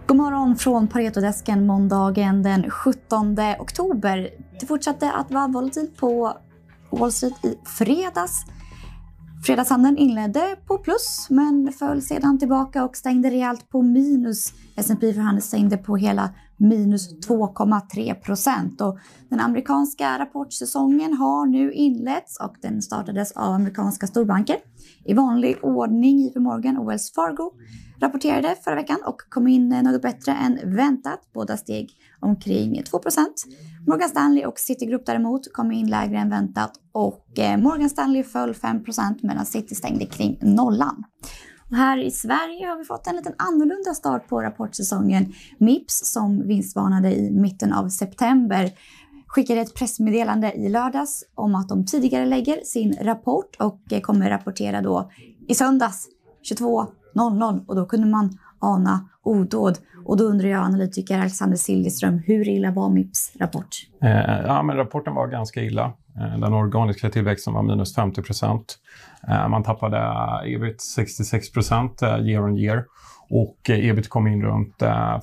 God morgon från Paretodesken måndagen den 17 oktober. Det fortsatte att vara volatilt på Wall Street i fredags. Fredagshandeln inledde på plus men föll sedan tillbaka och stängde rejält på minus. S&P för handel stängde på hela minus 2,3%. Och den amerikanska rapportsäsongen har nu inletts och den startades av amerikanska storbanker. I vanlig ordning JP Morgan och Wells Fargo rapporterade förra veckan och kom in något bättre än väntat. Båda steg omkring 2%. Morgan Stanley och Citigroup däremot kom in lägre än väntat och Morgan Stanley föll 5% medan Citi stängde kring nollan. Och här i Sverige har vi fått en liten annorlunda start på rapportsäsongen. Mips som vinstvarnade i mitten av september skickade ett pressmeddelande i lördags om att de tidigare lägger sin rapport och kommer rapportera då i söndags 22.00 och då kunde man ana odåd. Och då undrar jag, analytiker Alexander Siljeström, hur illa var Mips rapport? Men rapporten var ganska illa. Den organiska tillväxten var minus 50%. Man tappade ebit 66% year on year. Och ebit kom in runt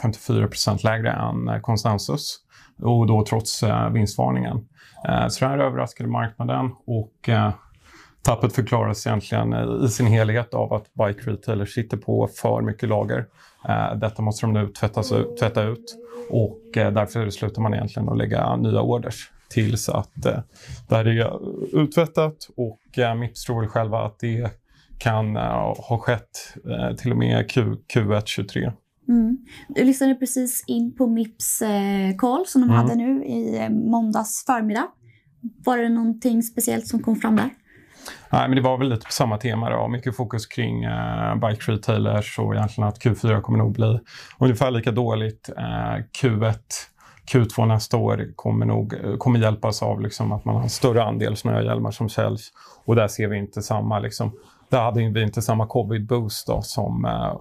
54% lägre än konsensus. Och då trots vinstvarningen. Så det här överraskade marknaden och tappet förklaras egentligen i sin helhet av att bike retailers sitter på för mycket lager. Detta måste de nu tvätta ut och därför slutar man egentligen att lägga nya orders tills att det här är uttvättat och Mips tror väl själva att det kan ha skett till och med Q1 23. Du lyssnade precis in på Mips call som de hade nu i måndags förmiddag. Var det någonting speciellt som kom fram där? Nej, men det var väl lite på samma tema då. Mycket fokus kring bike retailers och egentligen att Q4 kommer nog bli ungefär lika dåligt. Q1, Q2 nästa år kommer hjälpas av liksom att man har en större andel snöhjälmar som säljs. Och där ser vi inte samma liksom, där hade vi inte samma covid-boost då, som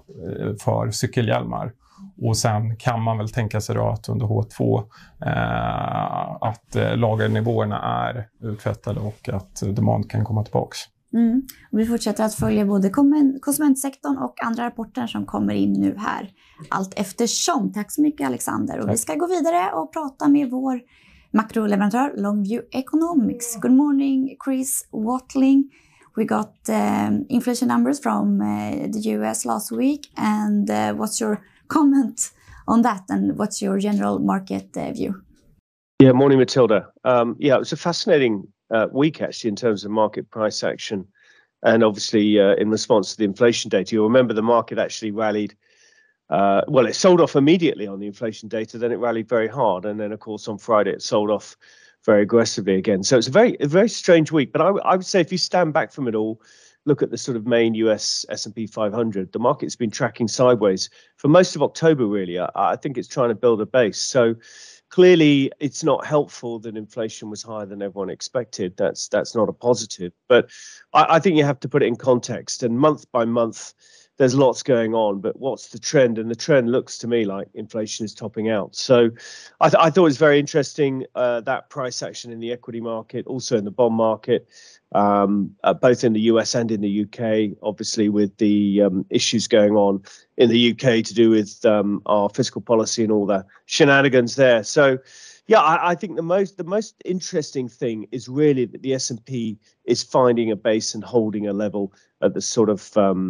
för cykelhjälmar. Och sen kan man väl tänka sig då att under H2 att lagernivåerna är uttvättade och att demand kan komma tillbaka. Och vi fortsätter att följa både konsumentsektorn och andra rapporter som kommer in nu här allt eftersom. Tack så mycket Alexander. Och vi ska gå vidare och prata med vår makroleverantör Longview Economics. Good morning Chris Watling. We got inflation numbers from the US last week and what's your comment on that and what's your general market view? Yeah, morning Matilda. It was a fascinating week actually in terms of market price action and obviously in response to the inflation data. You'll remember the market actually rallied, it sold off immediately on the inflation data, then it rallied very hard and then of course on Friday it sold off very aggressively again. So it's a very strange week, but I would say if you stand back from it all, look at the sort of main US S&P 500, the market's been tracking sideways for most of October, really. I think it's trying to build a base. So clearly it's not helpful that inflation was higher than everyone expected. That's not a positive. But I think you have to put it in context. And month by month, there's lots going on. But what's the trend? And the trend looks to me like inflation is topping out. So I thought it was very interesting, that price action in the equity market, also in the bond market. Both in the US and in the UK, obviously with the issues going on in the UK to do with our fiscal policy and all the shenanigans there. So, I think the most interesting thing is really that the S&P is finding a base and holding a level at the sort of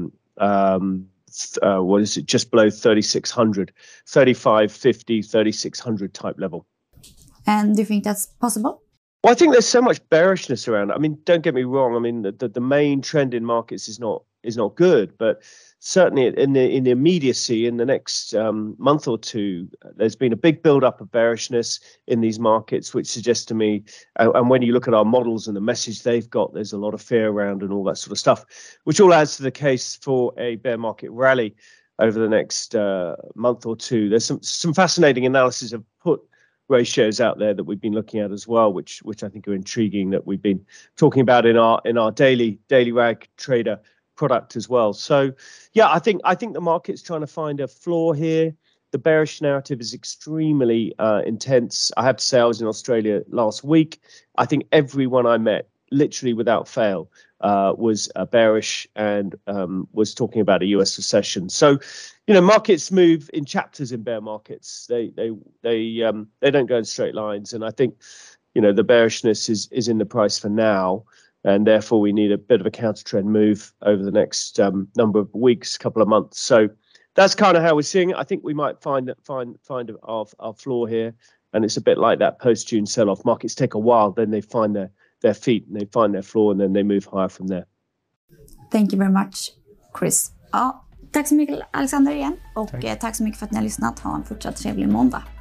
what is it, just below 3,600, 3,550, 3,600 type level. And do you think that's possible? Well, I think there's so much bearishness around. I mean, don't get me wrong. I mean, the main trend in markets is not good, but certainly in the immediacy in the next month or two, there's been a big build-up of bearishness in these markets, which suggests to me, and when you look at our models and the message they've got, there's a lot of fear around and all that sort of stuff, which all adds to the case for a bear market rally over the next month or two. There's some fascinating analysis of put ratios out there that we've been looking at as well, which I think are intriguing, that we've been talking about in our daily rag trader product as well. So I think the market's trying to find a floor here. The bearish narrative is extremely intense. I have to say I was in Australia last week. I think everyone I met literally without fail was bearish and was talking about a US recession. So, markets move in chapters in bear markets. They don't go in straight lines, and I think the bearishness is in the price for now, and therefore we need a bit of a counter trend move over the next number of weeks, couple of months. So that's kind of how we're seeing it. I think we might find our floor here, and it's a bit like that post-June sell-off. Markets take a while, then they find their feet and they find their floor, and then they move higher from there. Thank you very much, Chris. Ja, tack så mycket Alexander igen, och tack så mycket för att ni har lyssnat. Ha en fortsatt trevlig måndag.